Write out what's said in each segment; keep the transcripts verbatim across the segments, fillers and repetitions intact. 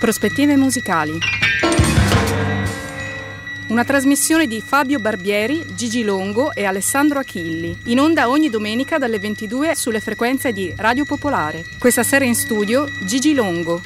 Prospettive musicali. Una trasmissione di Fabio Barbieri, Gigi Longo e Alessandro Achilli, in onda ogni domenica dalle ventidue sulle frequenze di Radio Popolare. Questa sera in studio Gigi Longo.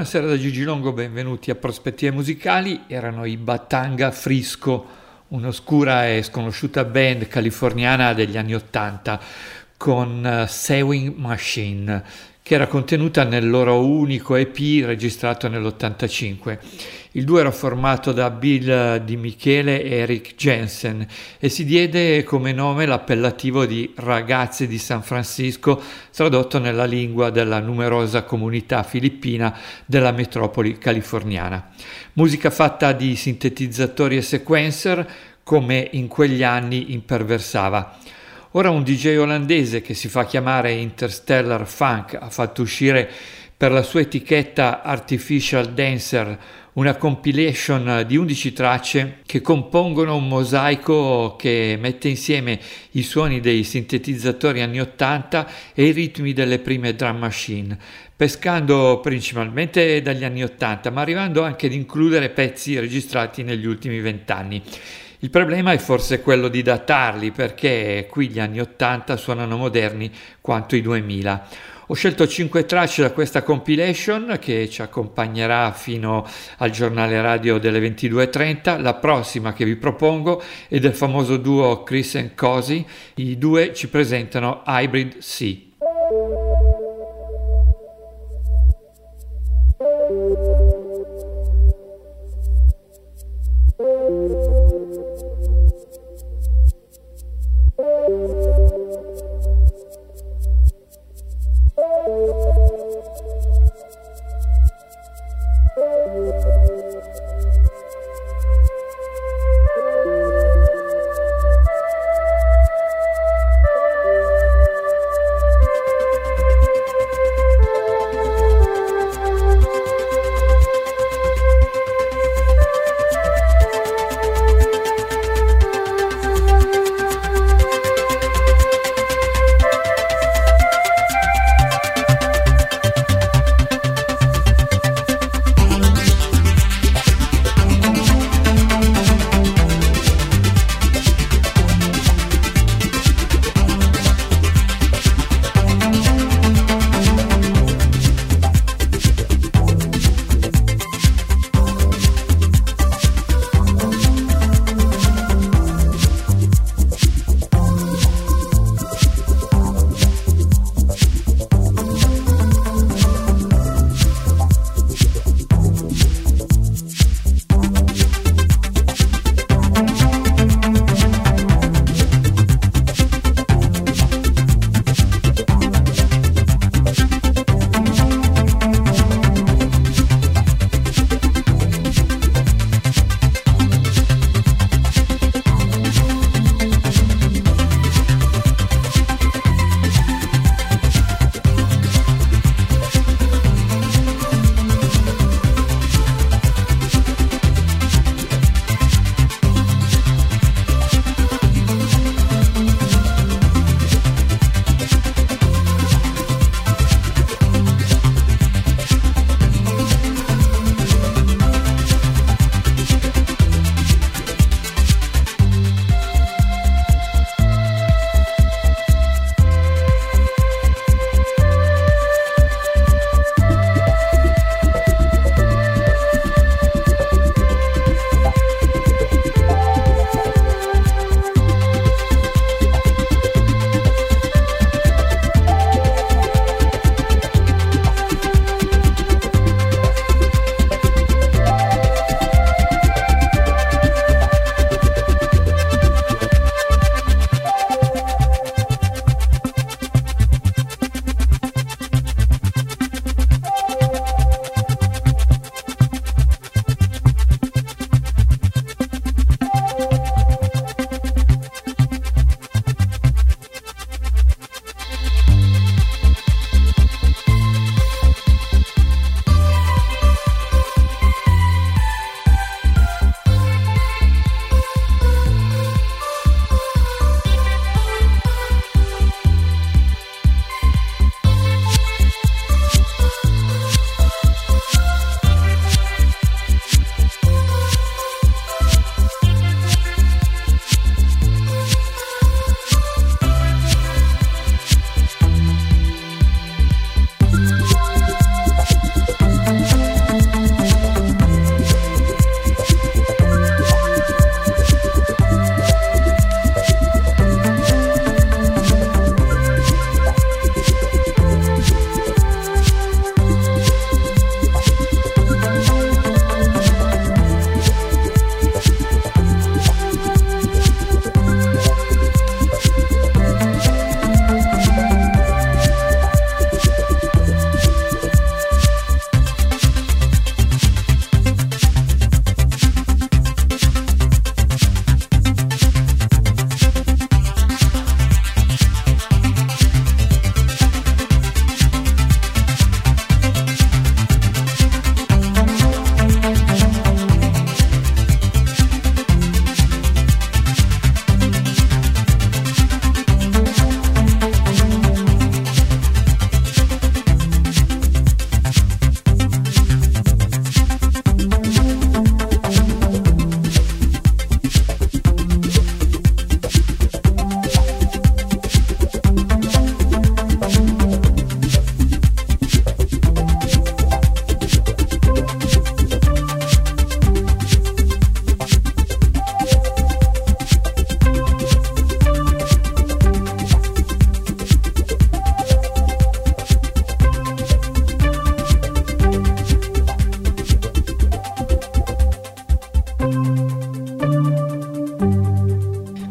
Buonasera da Gigi Longo, benvenuti a Prospettive Musicali. Erano i Batanga Frisco, un'oscura e sconosciuta band californiana degli anni Ottanta con Sewing Machine, che era contenuta nel loro unico E P registrato nell'ottantacinque. Il duo era formato da Bill Di Michele e Eric Jensen e si diede come nome l'appellativo di Ragazzi di San Francisco, tradotto nella lingua della numerosa comunità filippina della metropoli californiana. Musica fatta di sintetizzatori e sequencer, come in quegli anni imperversava. Ora un D J olandese che si fa chiamare Interstellar Funk ha fatto uscire per la sua etichetta Artificial Dancer una compilation di undici tracce che compongono un mosaico che mette insieme i suoni dei sintetizzatori anni ottanta e i ritmi delle prime drum machine, pescando principalmente dagli anni ottanta, ma arrivando anche ad includere pezzi registrati negli ultimi vent'anni. Il problema è forse quello di datarli, perché qui gli anni ottanta suonano moderni quanto i duemila. Ho scelto cinque tracce da questa compilation che ci accompagnerà fino al giornale radio delle ventidue e trenta. La prossima che vi propongo è del famoso duo Chris and Cozy. I due ci presentano Hybrid Sea.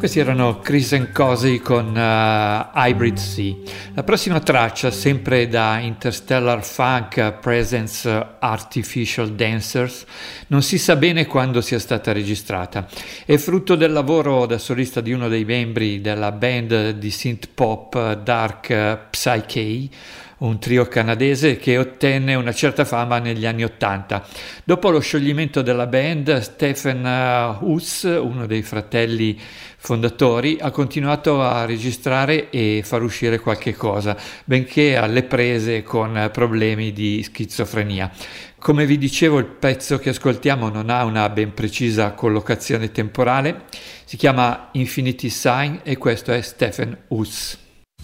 Questi erano Chris and Cosey con uh, Hybrid Sea. La prossima traccia, sempre da Interstellar Funk Presents Artificial Dancers, non si sa bene quando sia stata registrata. È frutto del lavoro da solista di uno dei membri della band di synth pop Dark Psyche, un trio canadese che ottenne una certa fama negli anni Ottanta. Dopo lo scioglimento della band, Stephen Huss, uno dei fratelli fondatori, ha continuato a registrare e far uscire qualche cosa, benché alle prese con problemi di schizofrenia. Come vi dicevo, il pezzo che ascoltiamo non ha una ben precisa collocazione temporale, si chiama Infinity Sign e questo è Stephen Huss.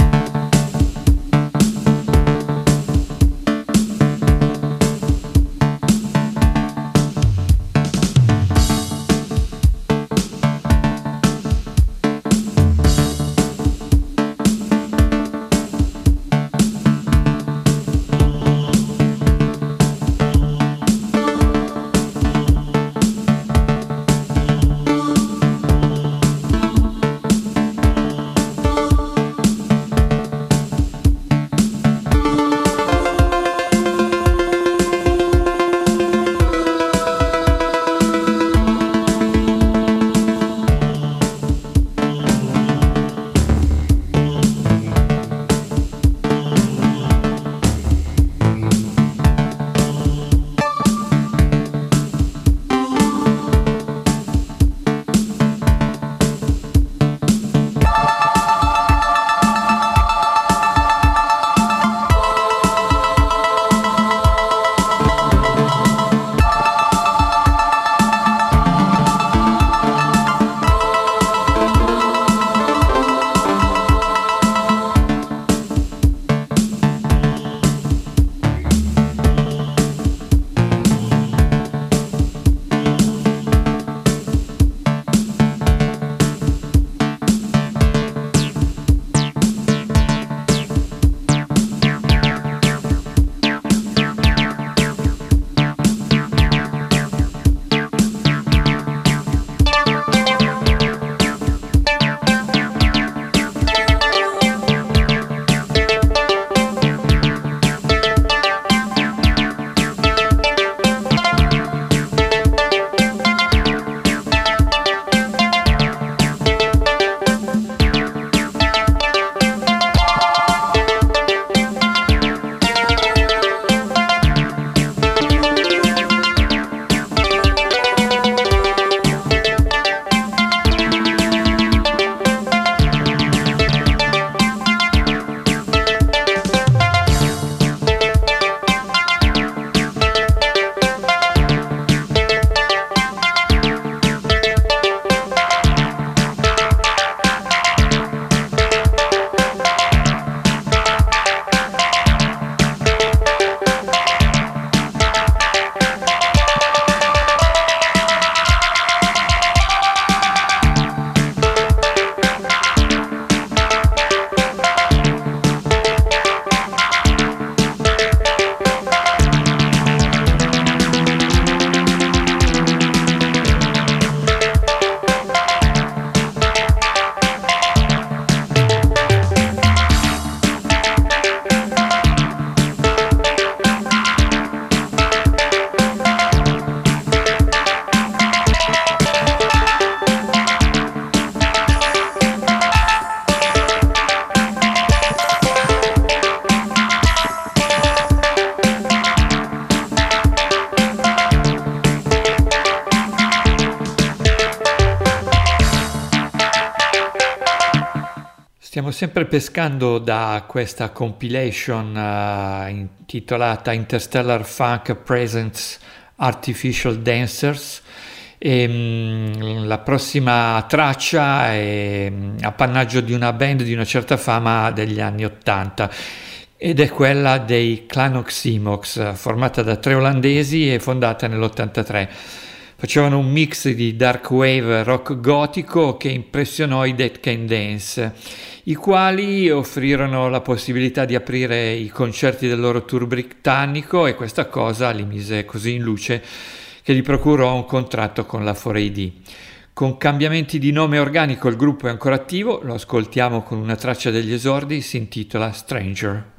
Stiamo sempre pescando da questa compilation uh, intitolata Interstellar Funk Presents Artificial Dancers e um, la prossima traccia è um, appannaggio di una band di una certa fama degli anni Ottanta ed è quella dei Clan Oxymox, formata da tre olandesi e fondata nell'ottantatré. Facevano un mix di dark wave rock gotico che impressionò i Dead Can Dance, i quali offrirono la possibilità di aprire i concerti del loro tour britannico e questa cosa li mise così in luce che gli procurò un contratto con la quattro A D. Con cambiamenti di nome organico il gruppo è ancora attivo, lo ascoltiamo con una traccia degli esordi, si intitola Stranger.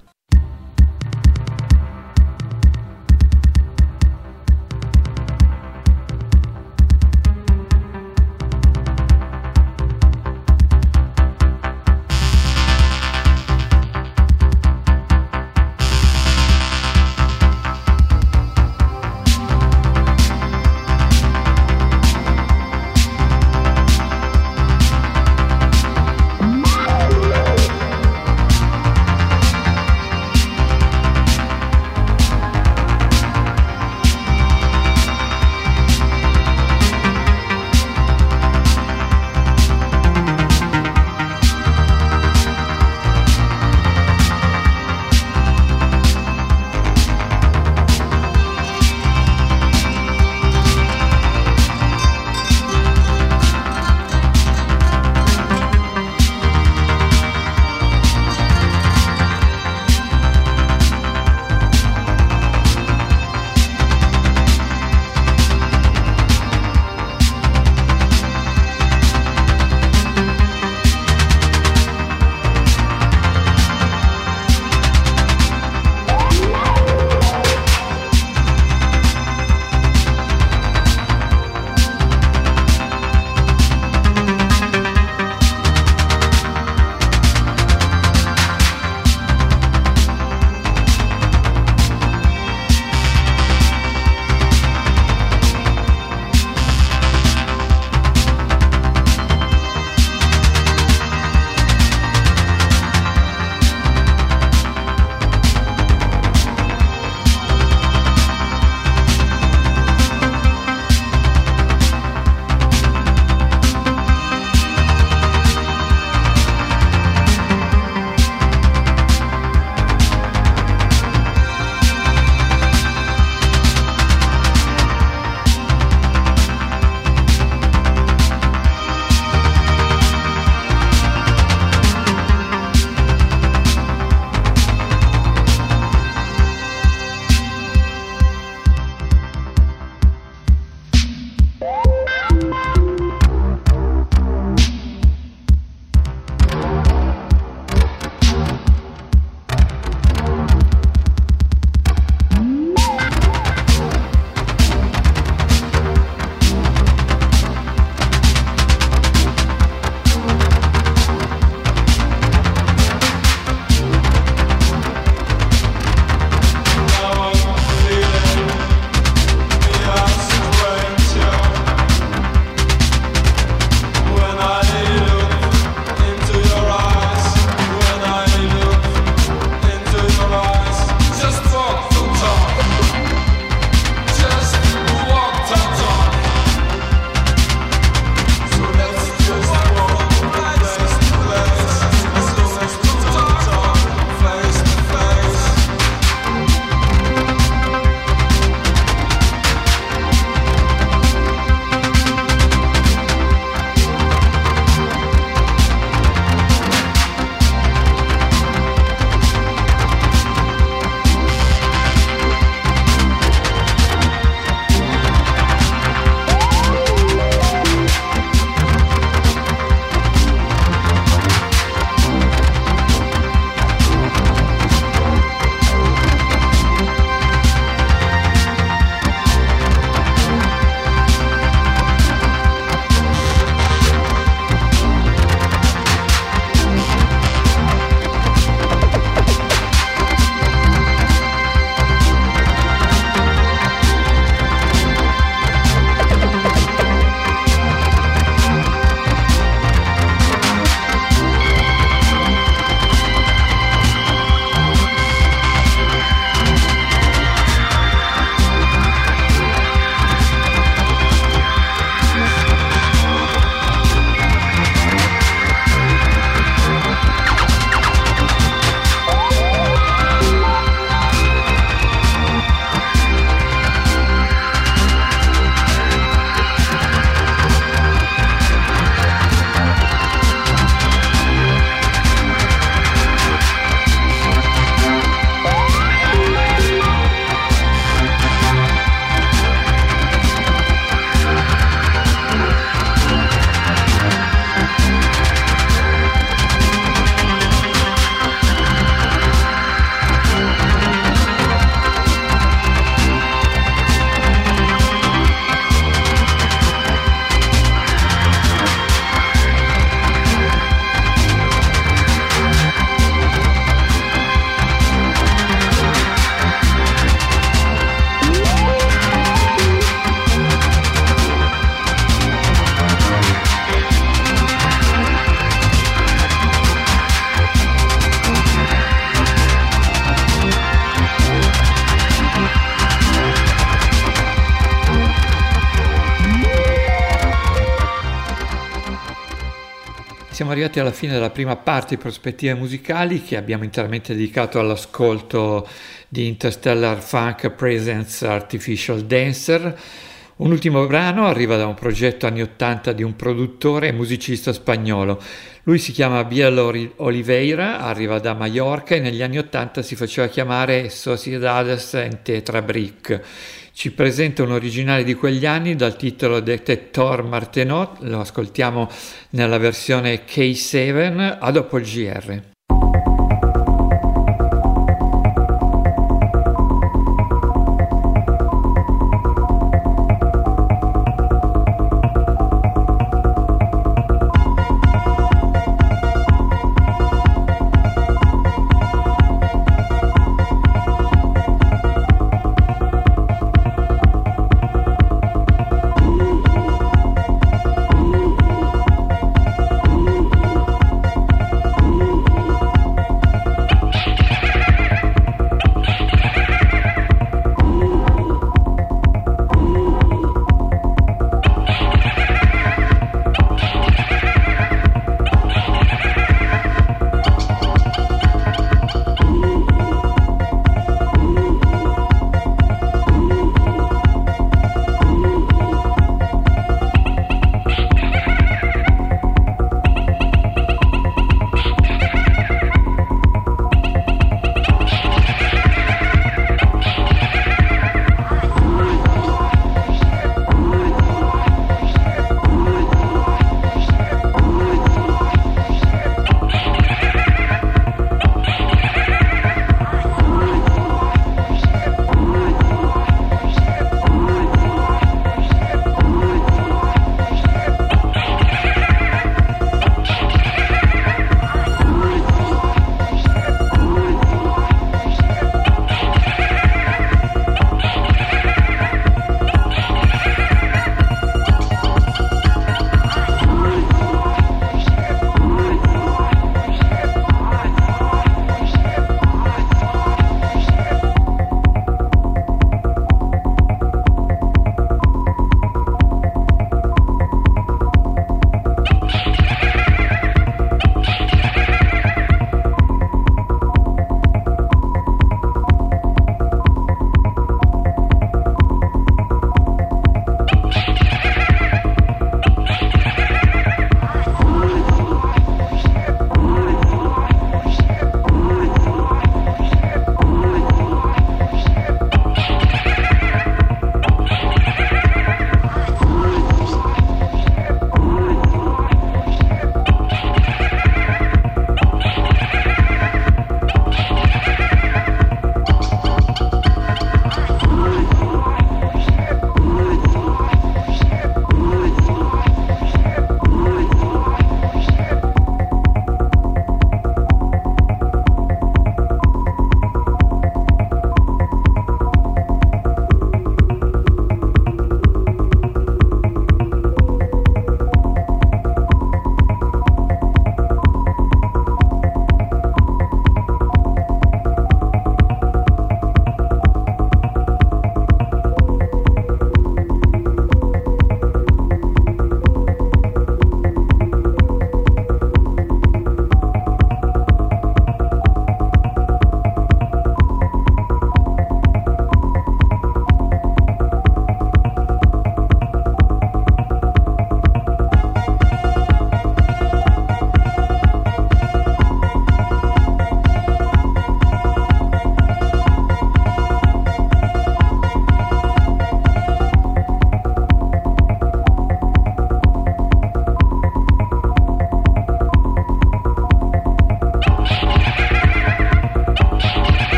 siamo arrivati alla fine della prima parte di Prospettive Musicali, che abbiamo interamente dedicato all'ascolto di Interstellar Funk Presents Artificial Dancer. Un ultimo brano arriva da un progetto anni ottanta di un produttore e musicista spagnolo. Lui si chiama Biel Oliveira, arriva da Mallorca e negli anni ottanta si faceva chiamare Sociedades en Tetrabric. Ci presenta un originale di quegli anni dal titolo Detector Martenot, lo ascoltiamo nella versione K sette, a dopo il G R.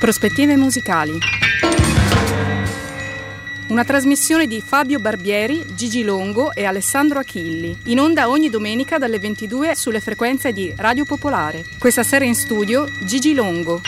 Prospettive musicali. Una trasmissione di Fabio Barbieri, Gigi Longo e Alessandro Achilli, in onda ogni domenica dalle ventidue sulle frequenze di Radio Popolare. Questa sera in studio Gigi Longo.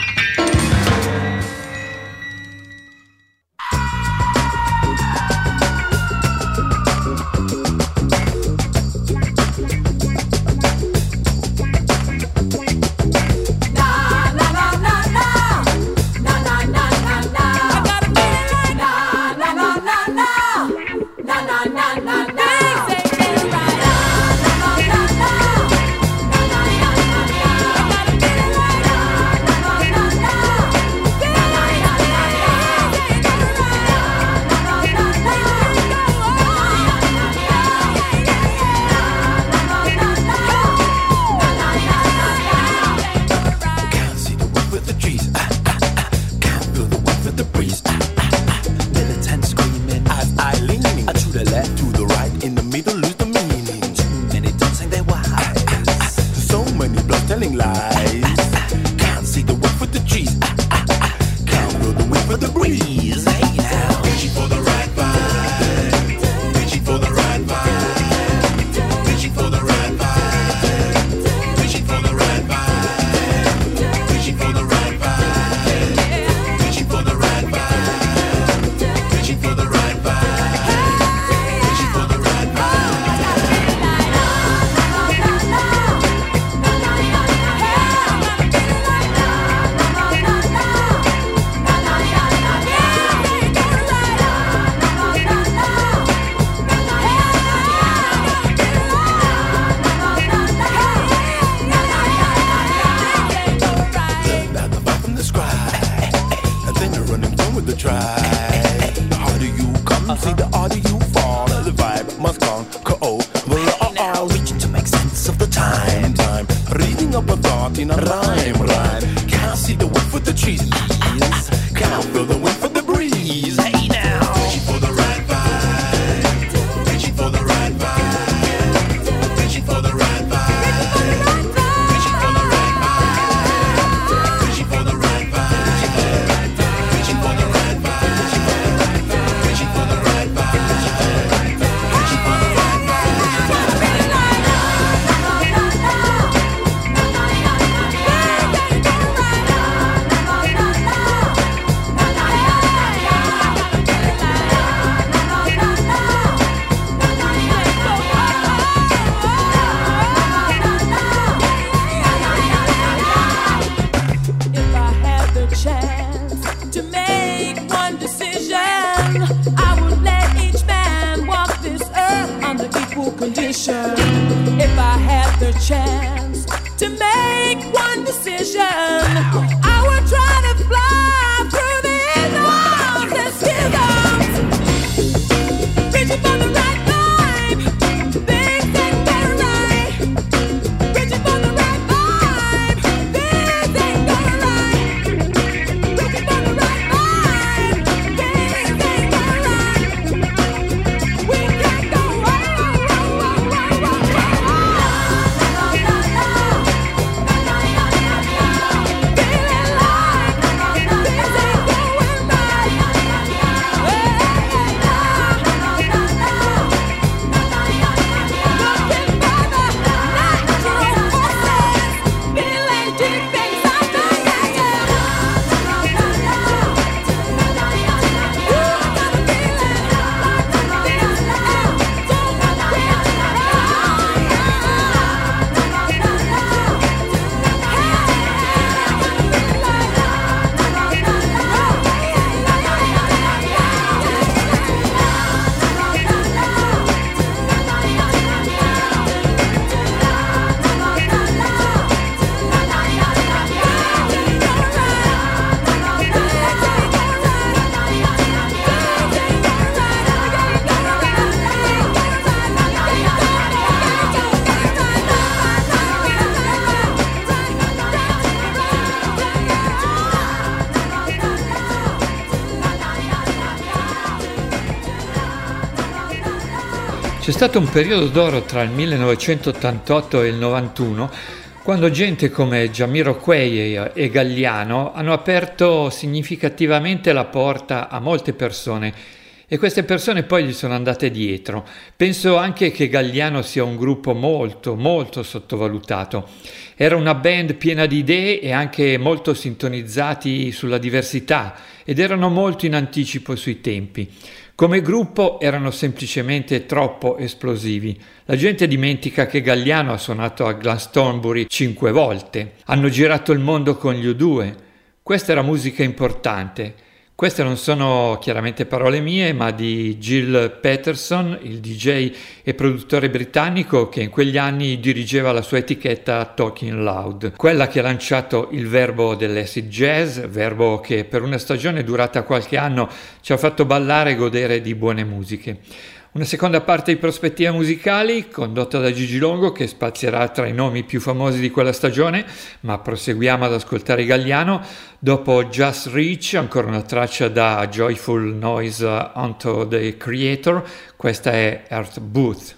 C'è stato un periodo d'oro tra il millenovecentottantotto e il novantuno Quando gente come Jamiroquai e Galliano hanno aperto significativamente la porta a molte persone e queste persone poi gli sono andate dietro. Penso anche che Galliano sia un gruppo molto, molto sottovalutato. Era una band piena di idee e anche molto sintonizzati sulla diversità ed erano molto in anticipo sui tempi. Come gruppo erano semplicemente troppo esplosivi. La gente dimentica che Galliano ha suonato a Glastonbury cinque volte. Hanno girato il mondo con gli U due. Questa era musica importante. Queste non sono chiaramente parole mie, ma di Gil Peterson, il D J e produttore britannico che in quegli anni dirigeva la sua etichetta Talking Loud, quella che ha lanciato il verbo dell'acid jazz, verbo che per una stagione durata qualche anno ci ha fatto ballare e godere di buone musiche. Una seconda parte di prospettive musicali condotta da Gigi Longo che spazierà tra i nomi più famosi di quella stagione, ma proseguiamo ad ascoltare Galliano. Dopo Just Reach, ancora una traccia da Joyful Noise Unto the Creator, questa è Earth Booth.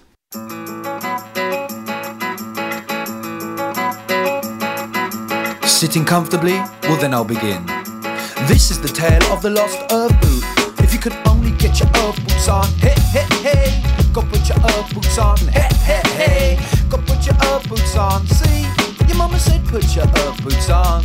Sitting comfortably? Well then I'll begin. This is the tale of the lost Earth Boot. If you could only get your earth boots on, hey, hey, hey, go put your earth boots on, hey, hey, hey, go put your earth boots on. See, your mama said put your earth boots on.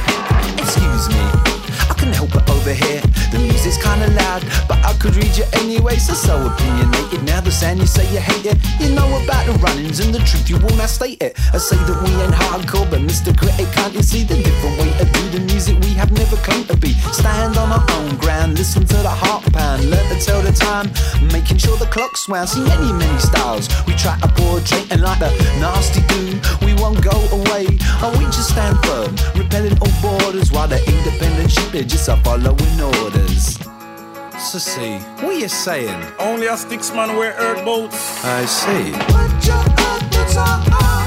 Excuse me, I couldn't help it over here. The music's kinda loud, but I could read you anyway, so so opinionated. Now the sound you say you hate it, you know about the run-ins and the truth, you will not state it. I say that we ain't hardcore, but Mister Critic, can't you see the different way to do the music we have never claimed to be? Stand on our own ground, listen to the heart pound, learn to tell the time, making sure the clock's wound. See many, many styles we try to portray, and like the nasty goo, we won't go away. Oh, we just stand firm, repelling all borders, while the independent sheep are just a following orders. So see, what are you saying? Only a sticks man wear earth boots. I see. Put your earth boots on.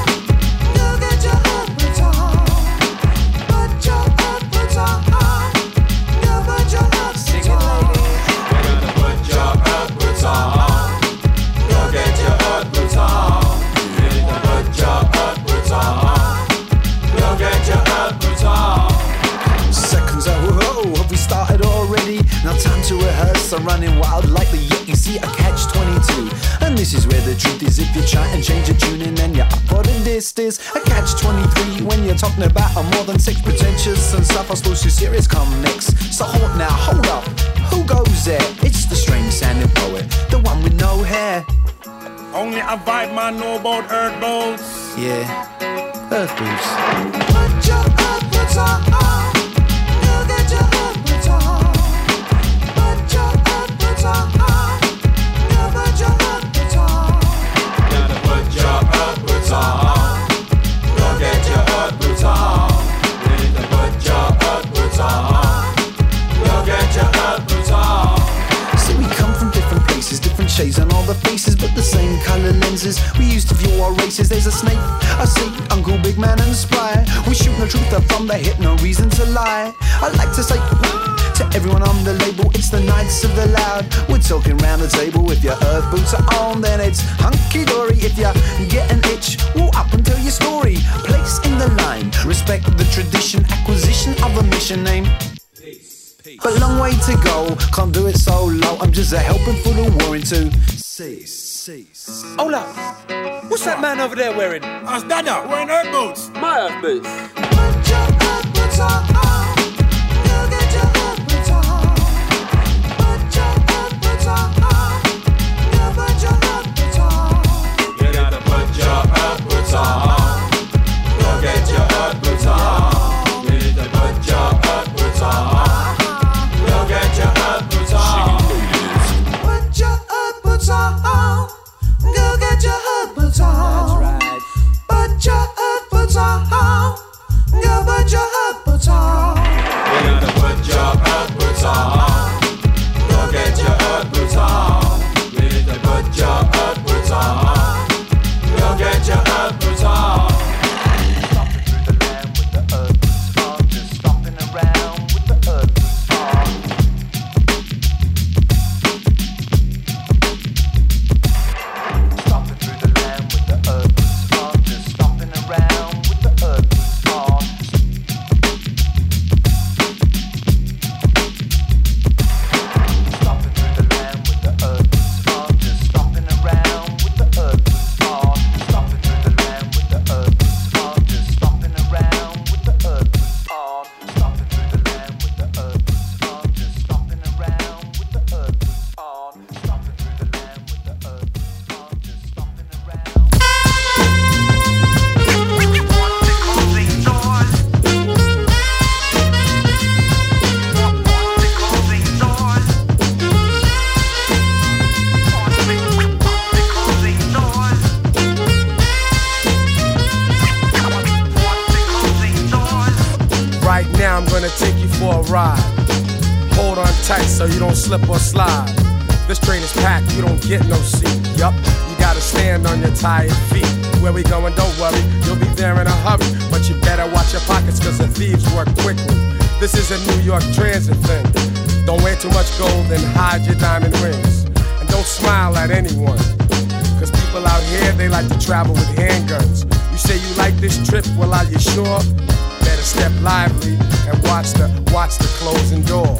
You get your earth boots on. Put your earth boots on. You put your earth boots on. We're gonna put your earth boots on. You get your earth boots on. You need to put your earth boots on. You get your earth boots on. Seconds out, whoa, have we started already? Now time to rehearse, I'm running wild like the Yeti. See, I catch twenty-two, and this is where the truth is. If you try and change your tuning, then you're up for the distance. I catch twenty-three when you're talking about a more than sex pretentious and stuff. I suppose too serious come next. So hold now, hold up, who goes there? It's the strange sounding poet, the one with no hair. Only a vibe man know about earth boots. Yeah, earth boots. Put your earth boots on. You get your earth boots on. Put your earth boots on. You put your earth boots on. Gotta put your earth boots on. Go get your earth boots on. You need to put your earth boots on. Go get your earth boots on. See, we come from different places, different shades on all the faces, but the same color lenses we used to view our races. There's a snake, I see, Uncle Big Man and Spry. We shoot the truth up from the hip, no reason to lie. I like to say to everyone on the label, it's the Knights of the Loud. We're talking round the table. If your earth boots are on, then it's hunky-dory. If you get an itch, well, up and tell your story. Place in the line, respect the tradition, acquisition of a mission name. But long way to go, can't do it so low. I'm just a helping for the war into cease, cease. Hold up, what's that man over there wearing? Us Dada wearing earth boots. My earth boots. Put your earth boots on. You get your earth boots on. Put your earth boots on. You put your earth boots on. You gotta put your earth boots on. Go get your earth boots on. You need to put your earth boots on. Go get your earth boots on. Put your earth boots on. Go get your earth boots on. That's right. Put your earth boots on. Go put your earth boots on. now I'm gonna take you for a ride. Hold on tight so you don't slip or slide. This train is packed, you don't get no seat. Yup, you gotta stand on your tired feet. Where we going, don't worry, you'll be there in a hurry. But you better watch your pockets cause the thieves work quickly. This is a New York transit thing. Don't wear too much gold and hide your diamond rings. And don't smile at anyone, cause people out here, they like to travel with handguns. You say you like this trip, well are you sure? Better step lively and watch the, watch the closing doors.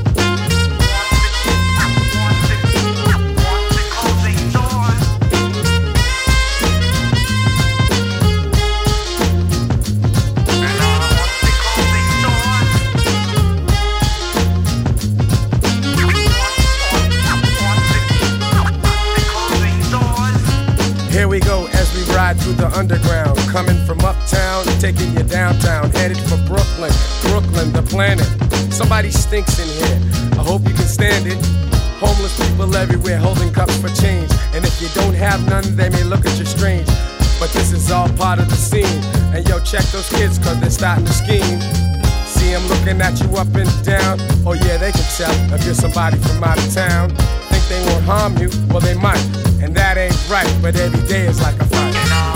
Here we go as we ride through the underground, coming from uptown, taking you downtown, headed for Brooklyn, Brooklyn, the planet. Somebody stinks in here, I hope you can stand it. Homeless people everywhere holding cups for change, and if you don't have none, they may look at you strange. But this is all part of the scene, and yo, check those kids cause they're starting to scheme. See them looking at you up and down, oh yeah, they can tell if you're somebody from out of town. Think they won't harm you, well they might. And that ain't right, but every day is like a fight.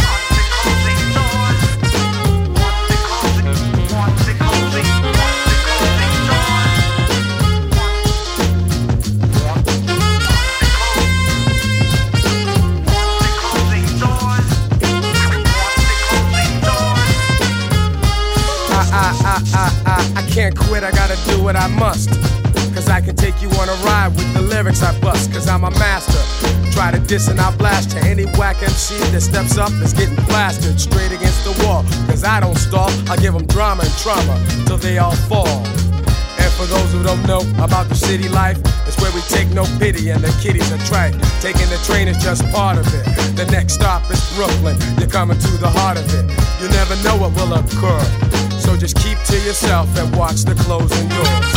I, I, I, I, I, I can't quit, I gotta do what I must. Cause I can take you on a ride with the lyrics I bust. Cause I'm a master. Try to diss and I'll blast you. Any whack M C that steps up is getting plastered straight against the wall. Cause I don't stall, I give them drama and trauma till they all fall. And for those who don't know about the city life, it's where we take no pity and the kiddies are trite. Taking the train is just part of it. The next stop is Brooklyn, you're coming to the heart of it. You never know what will occur, so just keep to yourself and watch the closing doors.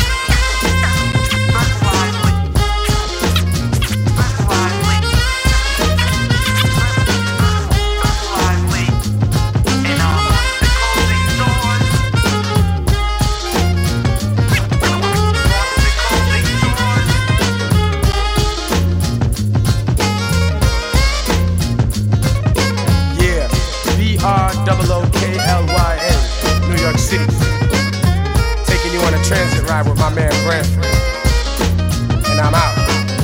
Double O K L Y A, New York City. Taking you on a transit ride with my man Branford. And I'm out.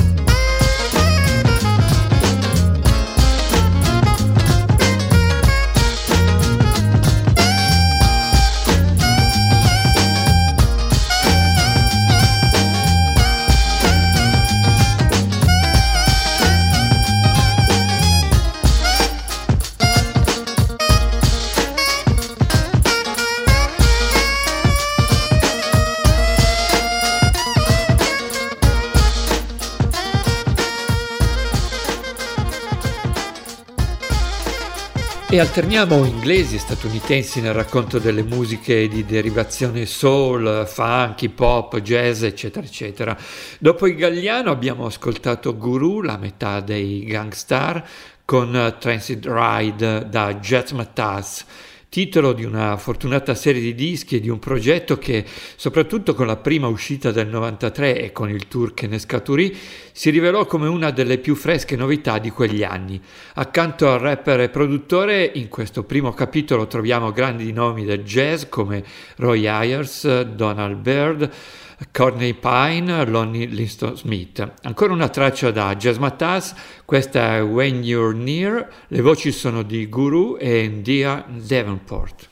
E alterniamo inglesi e statunitensi nel racconto delle musiche di derivazione soul, funk, hip hop, jazz, eccetera, eccetera. Dopo i Galliano abbiamo ascoltato Guru, la metà dei Gangstar, con Transit Ride da Jazz Matas, titolo di una fortunata serie di dischi e di un progetto che, soprattutto con la prima uscita del novantatré e con il tour che ne scaturì, si rivelò come una delle più fresche novità di quegli anni. Accanto al rapper e produttore, in questo primo capitolo troviamo grandi nomi del jazz come Roy Ayers, Donald Byrd, Courtney Pine, Lonnie Liston Smith. Ancora una traccia da Jazz Matas, questa è When You're Near, le voci sono di Guru e Ndia Davenport.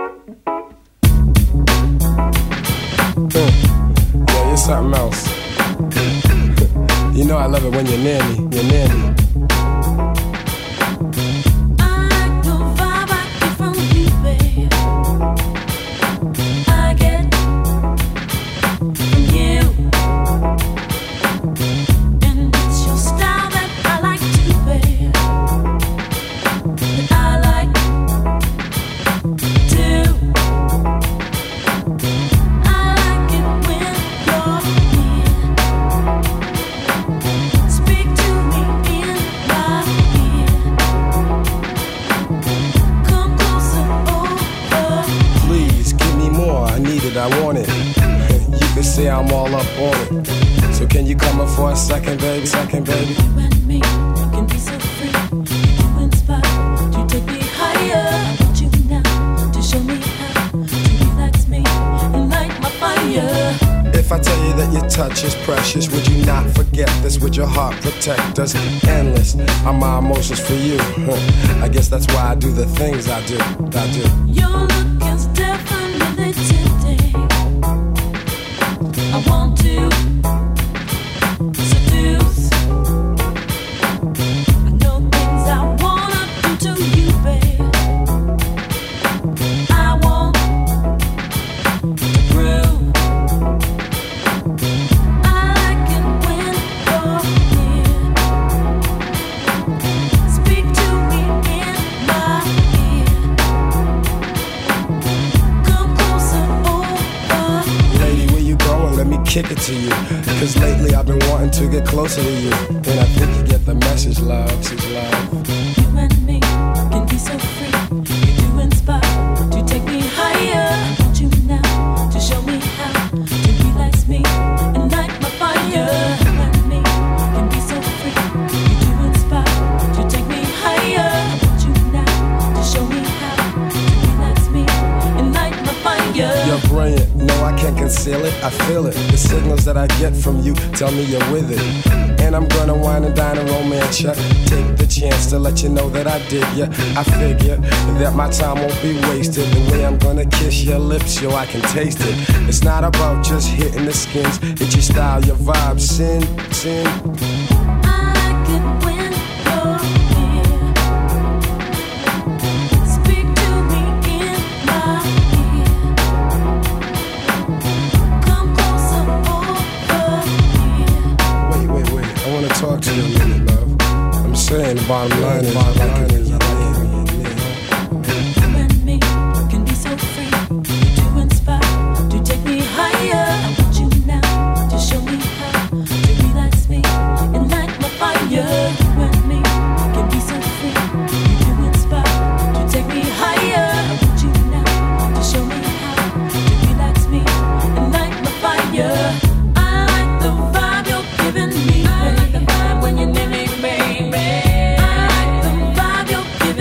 Yeah, you're something else. You know I love it when you're near me, you're near me. Speak to me in see I'm all up on it. So can you come up for a second, baby? Second, baby. You and me can be so free. You inspire to take me higher. I want you now to show me how to relax me and light my fire. If I tell you that your touch is precious, would you not forget this? Would your heart protect us? Endless are my emotions for you. I guess that's why I do the things I do. I do. Your look is definitely tempting. I want to seduce. I know things I wanna do to you, babe. I want to prove I like it when you're near. Speak to me in my ear. Come closer over. Lady, where you going? Let me kick it to you. Cause lately I've been wanting to get closer to you. And I think you get the message, love. Message, love. You and me can be so free. You do inspire to take me higher. I want you now to show me how to relax me and light my fire. You and me can be so free. You do inspire to take me higher. I want you now to show me how to relax me and light my fire. You're brilliant, no I can't conceal it, I feel it. The signals that I get from you tell me you're with it. And I'm gonna wine and dine and romance ya. Take the chance to let you know that I dig ya. I figure that my time won't be wasted. The way I'm gonna kiss your lips, yo, I can taste it. It's not about just hitting the skins, it's your style, your vibe, sin, sin. I like it when you're near. Speak to me in my ear. Come closer over here. Wait, wait, wait, I wanna talk to you a minute, love. I'm saying the bottom line is, I like it when you like it when you're near. You and me can be so free. You do inspire to take me higher. I want you now to show me how to relax me and light my fire. You and me can be so free. You do inspire to take me higher. I want you now to show me how to relax me and light my fire. I like the vibe you're giving me. I like the vibe when you're near me, baby. I like the vibe you're giving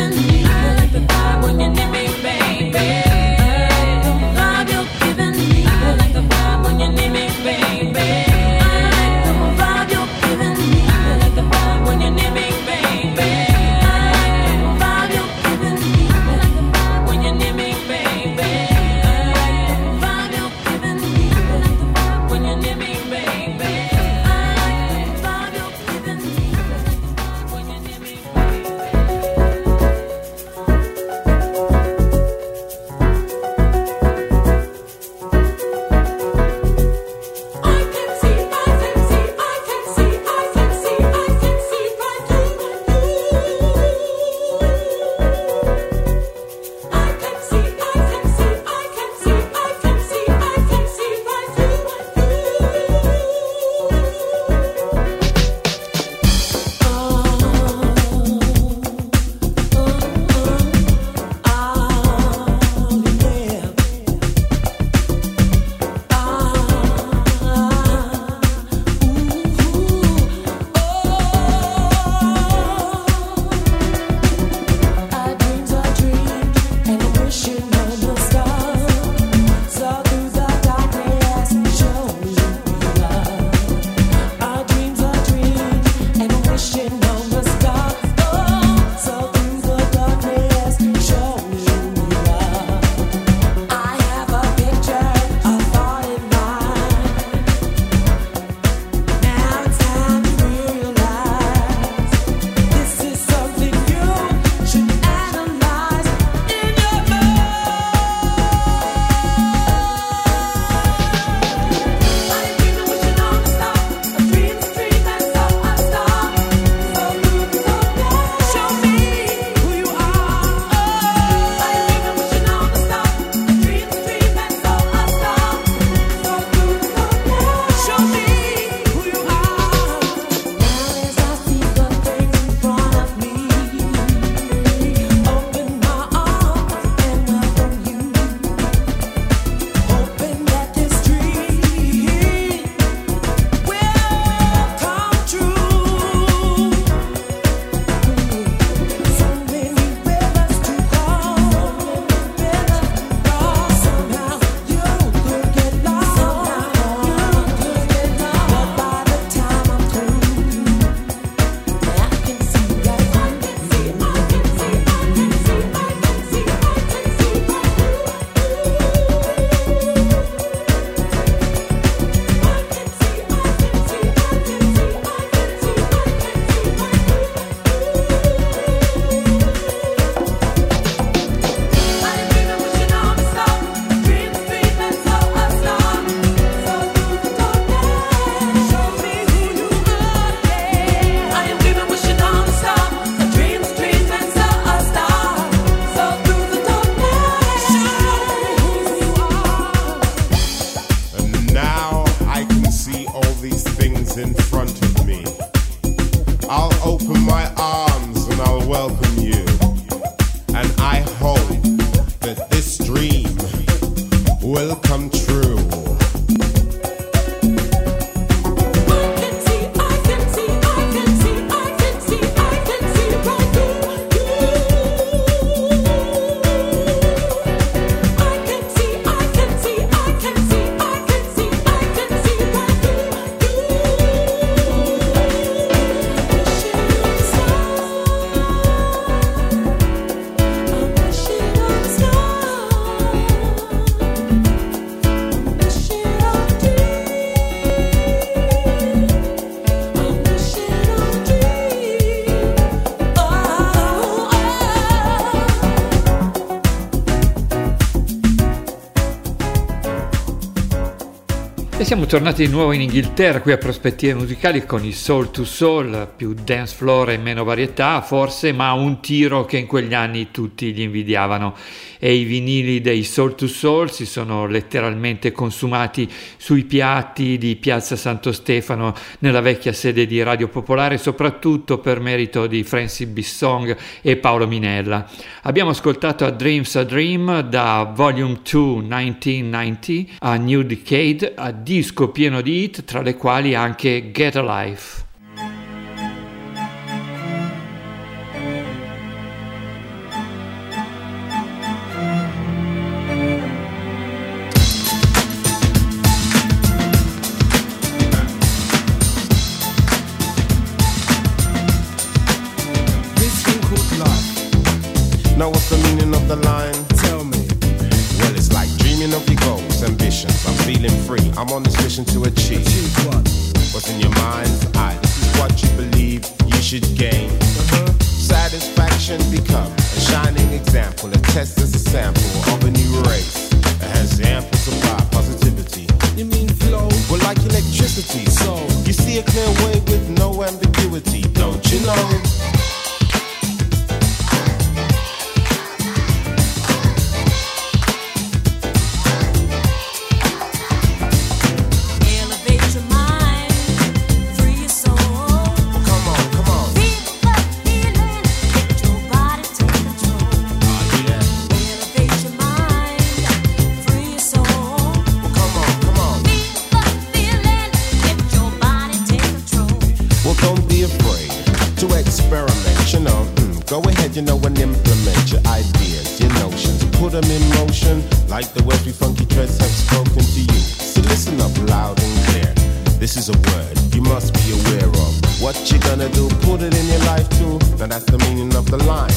E siamo tornati di nuovo in Inghilterra, qui a Prospettive Musicali, con i Soul to Soul, più dance floor e meno varietà forse, ma un tiro che in quegli anni tutti gli invidiavano. E i vinili dei Soul to Soul si sono letteralmente consumati sui piatti di Piazza Santo Stefano, nella vecchia sede di Radio Popolare, soprattutto per merito di Francis Bissong e Paolo Minella. Abbiamo ascoltato A Dream's a Dream da Volume due millenovecentonovanta a New Decade, a disco pieno di hit, tra le quali anche Get a Life. Now what's the meaning of the line? Tell me. Well, it's like dreaming of your goals, ambitions. I'm feeling free. I'm on this mission to achieve. Achieve what? What's in your mind's eye? This is what you believe you should gain. Uh-huh. Satisfaction become a shining example. A test as a sample of a new race that has ample supply positivity. You mean flow? Well, like electricity. So you see a clear way with no ambiguity, don't you know? You know, and implement your ideas, your notions, put them in motion, like the words we funky dreads have spoken to you. So listen up loud and clear. This is a word you must be aware of. What you gonna do, put it in your life too. Now that's the meaning of the line.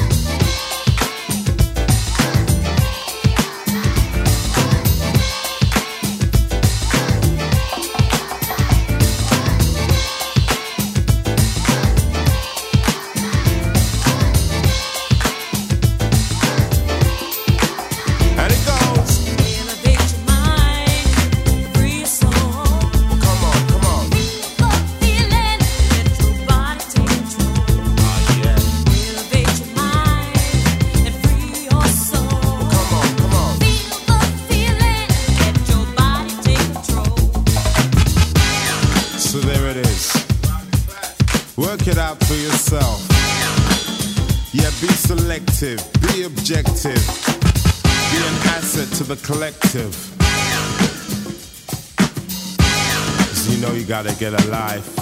Be objective, be an asset to the collective. 'Cause you know you gotta get a life.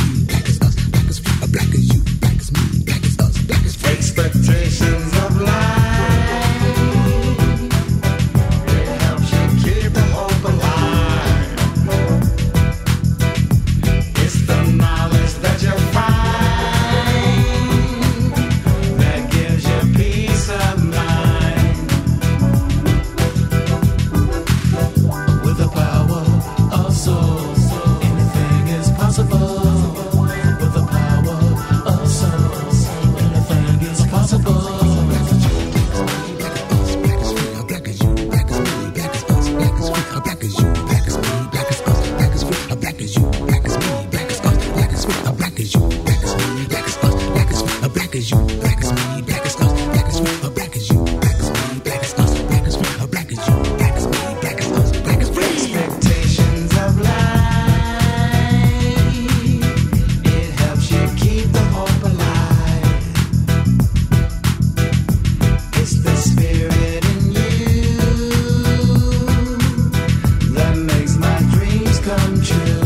Expectations of life. as you, black as me, black as us, black as free, black as you, black as me, black as us, black as free, black as you, black as me, black as us, black as free, black as you, black as me, black as us, black as free. Expectations of life, it helps you keep the hope alive. It's the spirit in you that makes my dreams come true.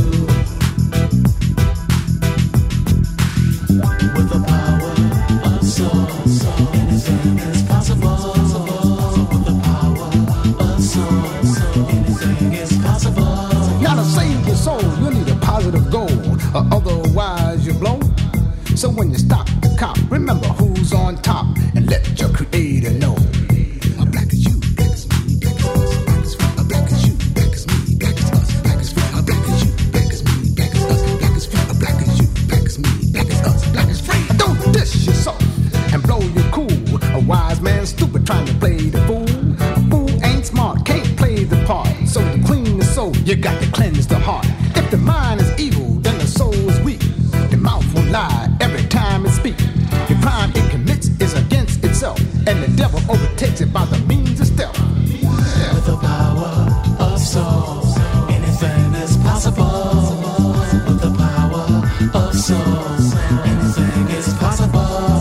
With the power of soul, soul, anything is possible. With the power of soul, soul, anything is possible. Now to save your soul, you need a positive goal, or otherwise you blow. So when you stop the cop, remember who's on top and let your creator know. Black as you, black as me, black as us, black as free. Black as you, black as me, black as us, black as free. Black as you, black as me, black as us, black as free. Black as you, black as me, black as us, black as free. Don't dish yourself and blow your cool. A wise man stupid trying to play the fool. A fool ain't smart, can't play the part. So to clean the soul, you got to cleanse the heart. If the mind is evil, then the soul is weak. The mouth will lie every time it speaks. The crime it commits is against itself, and the devil overtakes it by the means of stealth. With the power of soul, anything is possible. With the power of soul, anything is possible.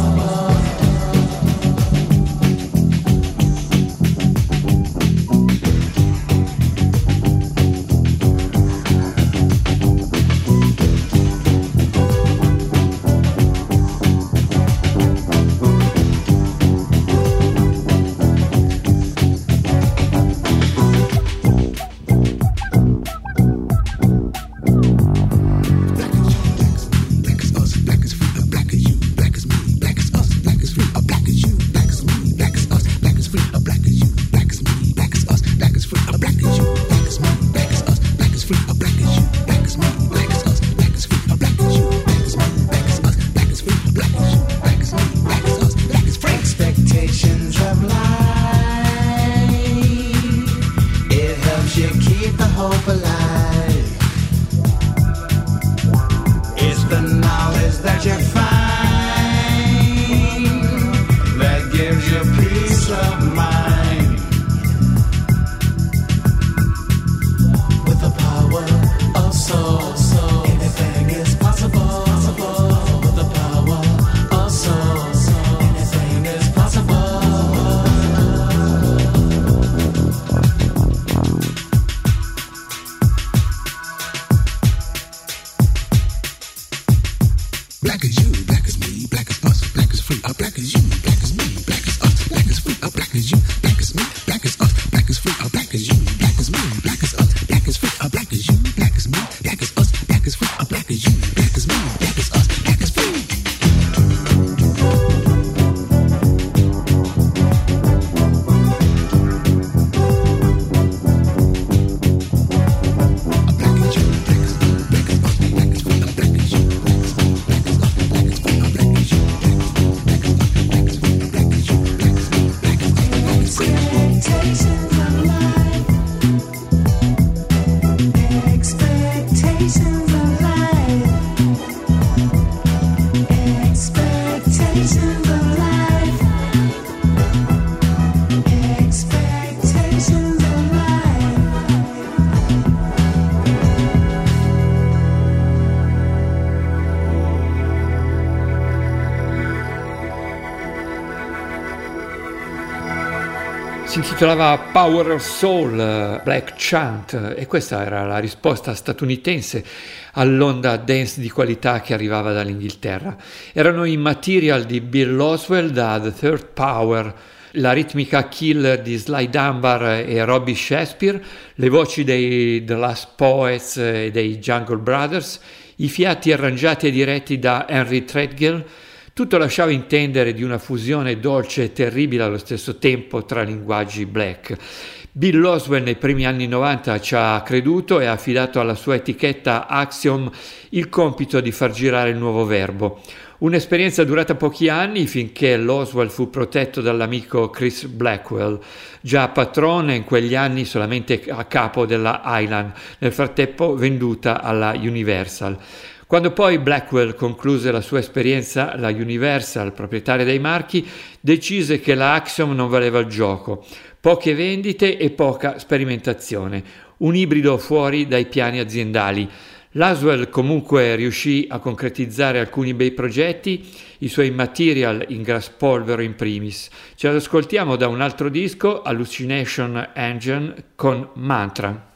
Expectations of life, it helps you keep the hope alive. It's the knowledge that you find that gives you peace of mind. With the power of soul, soul, anything is possible. With the power of soul, soul, anything is possible. Black as you, black as me, black as us, black as free. Black as you, black as me, black as us, black as free. Black as you, black as me, black as us, black as free. Black as you, black as me, black as us, black as free. Black as you, black as me, black as us, black as free. Black as you, black as me, black as us, black as free. Si intitolava Power of Soul, Black Chant, e questa era la risposta statunitense all'onda dance di qualità che arrivava dall'Inghilterra. Erano i Material di Bill Laswell da The Third Power, la ritmica killer di Sly Dunbar e Robbie Shakespeare, le voci dei The Last Poets e dei Jungle Brothers, i fiati arrangiati e diretti da Henry Threadgill. Tutto lasciava intendere di una fusione dolce e terribile allo stesso tempo tra linguaggi black. Bill Laswell nei primi anni novanta ci ha creduto e ha affidato alla sua etichetta Axiom il compito di far girare il nuovo verbo. Un'esperienza durata pochi anni finché Laswell fu protetto dall'amico Chris Blackwell, già patrone in quegli anni solamente a capo della Island, nel frattempo venduta alla Universal. Quando poi Blackwell concluse la sua esperienza, la Universal, proprietaria dei marchi, decise che la Axiom non valeva il gioco. Poche vendite e poca sperimentazione, un ibrido fuori dai piani aziendali. Laswell comunque riuscì a concretizzare alcuni bei progetti, i suoi Material in Grasspolvero in primis. Ce l'ascoltiamo da un altro disco, Hallucination Engine, con Mantra.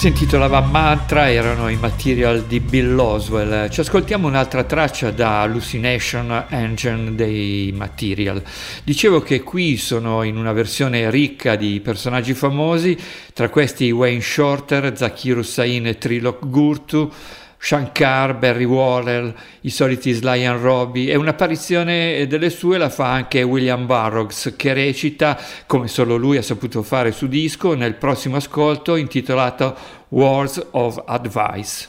Si intitolava Mantra, erano i Material di Bill Laswell. Ci ascoltiamo un'altra traccia da Hallucination Engine dei Material. Dicevo che qui sono in una versione ricca di personaggi famosi, tra questi Wayne Shorter, Zakir Hussain e Trilok Gurtu, Shankar, Barry Worrell, i soliti Sly and Robbie, e un'apparizione delle sue la fa anche William Burroughs, che recita, come solo lui ha saputo fare su disco, nel prossimo ascolto intitolato Words of Advice.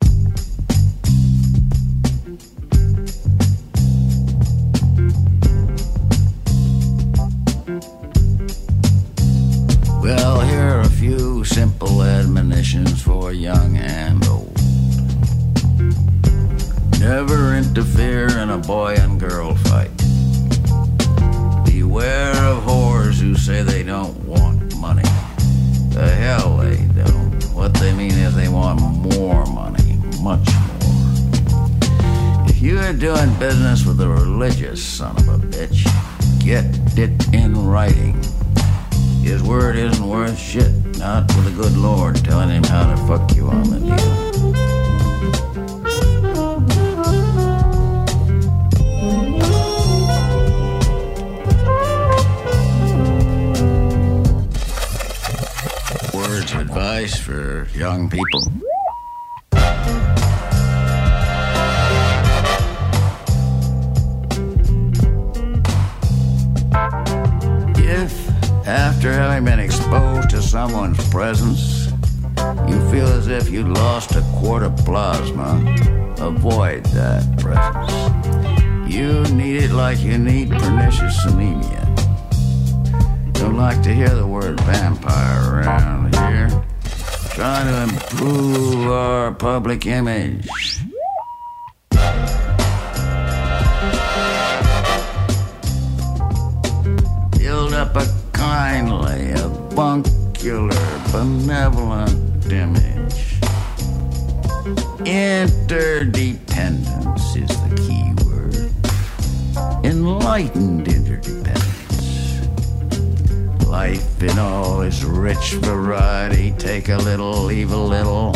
Well, here are a few simple admonitions for young and old. Never interfere in a boy and girl fight. Beware of whores who say they don't want money. The hell they don't. What they mean is they want more money, much more. If you are doing business with a religious son of a bitch, get it in writing. His word isn't worth shit, not with a good Lord telling him how to fuck you on the deal. Words of advice for young people. If, after having been exposed to someone's presence, you feel as if you lost a quart of plasma, avoid that presence. You need it like you need pernicious anemia. Don't like to hear the word vampire around here. Trying to improve our public image. Build up a kindly, avuncular, benevolent image. Interdependence is the key word. Enlightened interdependence. Life in all its rich variety, take a little, leave a little.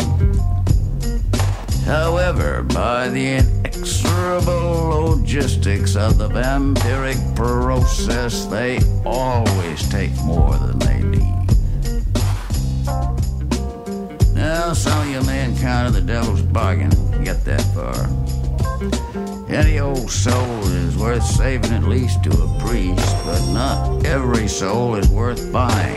However, by the inexorable logistics of the vampiric process, they always take more than they need. Now, some of you may encounter the devil's bargain if you get that far. Any old soul is worth saving at least to a priest, but not every soul is worth buying.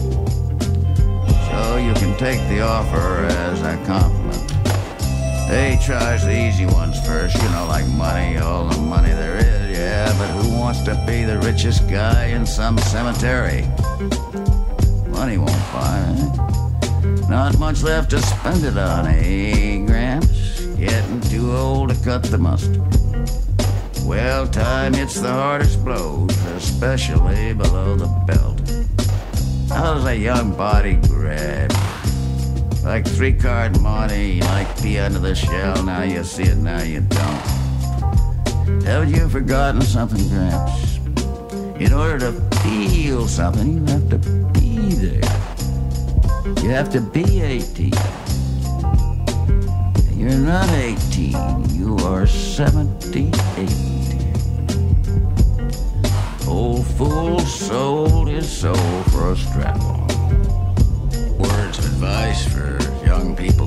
So you can take the offer as a compliment. They charge the easy ones first, you know, like money, all the money there is, yeah, but who wants to be the richest guy in some cemetery? Money won't buy, eh? Not much left to spend it on, eh, Gramps? Getting too old to cut the mustard. Well, time hits the hardest blows, especially below the belt. How does a young body grab? Like three-card money, like pee under the shell, now you see it, now you don't. Haven't you forgotten something, Gramps? In order to feel something, you have to be there. You have to be eighteen. You're not eighteen, you are seventy-eight. Old fool sold his soul for a strap-on. Words of advice for young people.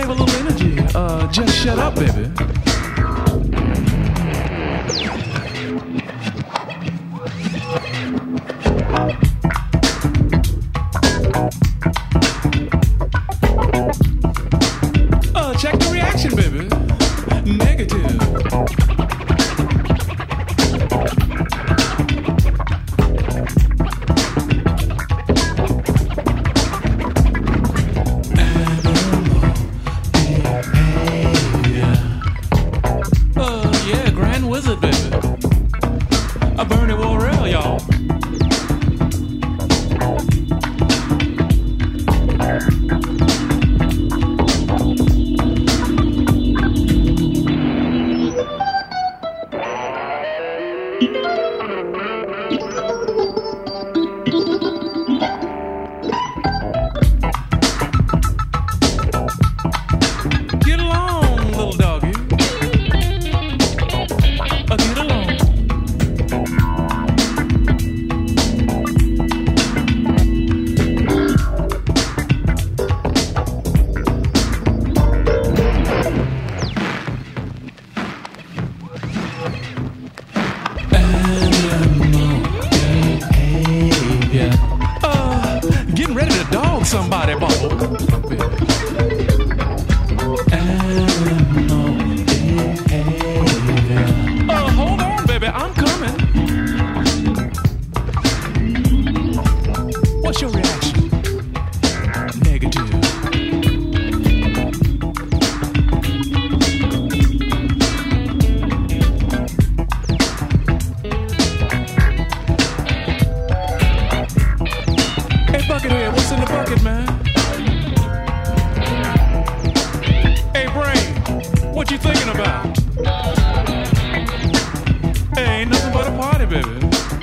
save a little energy. Uh, just shut up, baby. Uh, check the reaction, baby. Negative. Wizard, baby. A Bernie Worrell, y'all. Get along, little doggy. Get along. Animal behavior. Uh, getting ready to dog somebody, Bubble. Animal behavior. Uh, hold on, baby, I'm coming. What's your reaction? Negative. Hey, Buckethead, what's in the bucket, man? Hey, Brain, what you thinking about? Hey, ain't nothing but a party, baby.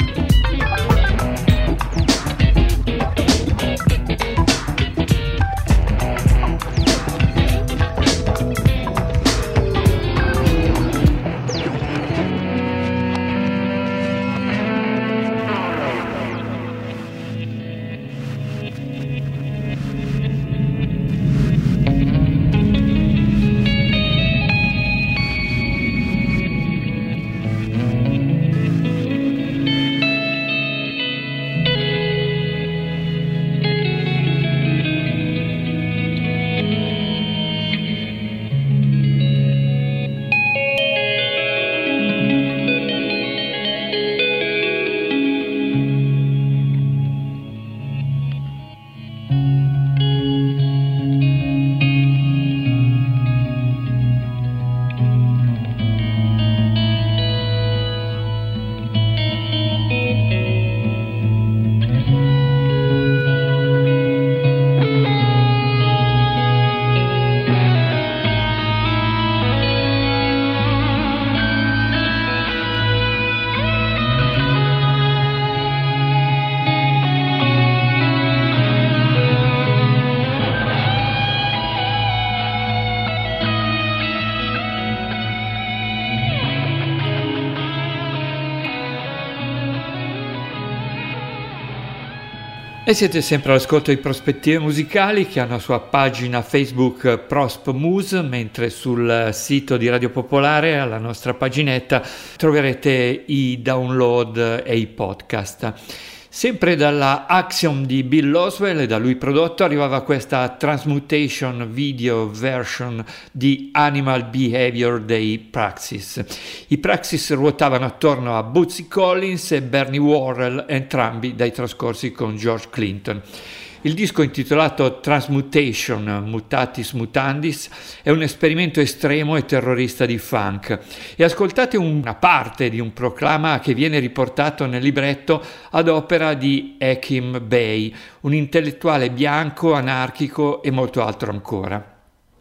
E siete sempre all'ascolto di Prospettive Musicali, che ha una sua pagina Facebook Prosp Mus, mentre sul sito di Radio Popolare, alla nostra paginetta, troverete i download e i podcast. Sempre dalla Axiom di Bill Oswell e da lui prodotto arrivava questa Transmutation video version di Animal Behavior dei Praxis. I Praxis ruotavano attorno a Bootsy Collins e Bernie Worrell, entrambi dai trascorsi con George Clinton. Il disco, intitolato Transmutation, Mutatis Mutandis, è un esperimento estremo e terrorista di funk. E ascoltate una parte di un proclama che viene riportato nel libretto ad opera di Hakim Bey, un intellettuale bianco, anarchico e molto altro ancora.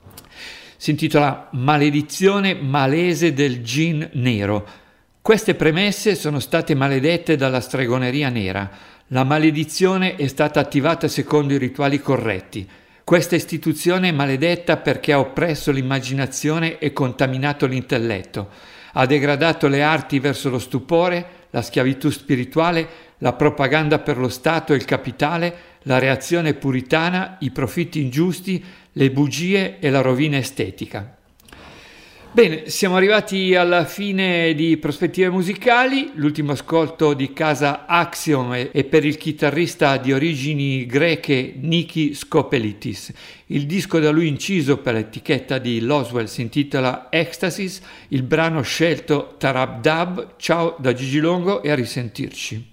Si intitola Maledizione malese del gin nero. Queste premesse sono state maledette dalla stregoneria nera. La maledizione è stata attivata secondo i rituali corretti. Questa istituzione è maledetta perché ha oppresso l'immaginazione e contaminato l'intelletto. Ha degradato le arti verso lo stupore, la schiavitù spirituale, la propaganda per lo Stato e il capitale, la reazione puritana, i profitti ingiusti, le bugie e la rovina estetica. Bene, siamo arrivati alla fine di Prospettive Musicali. L'ultimo ascolto di Casa Axiom è per il chitarrista di origini greche Niki Skopelitis. Il disco da lui inciso per l'etichetta di Loswell si intitola Ecstasis, il brano scelto Tarab Dab. Ciao da Gigi Longo e a risentirci.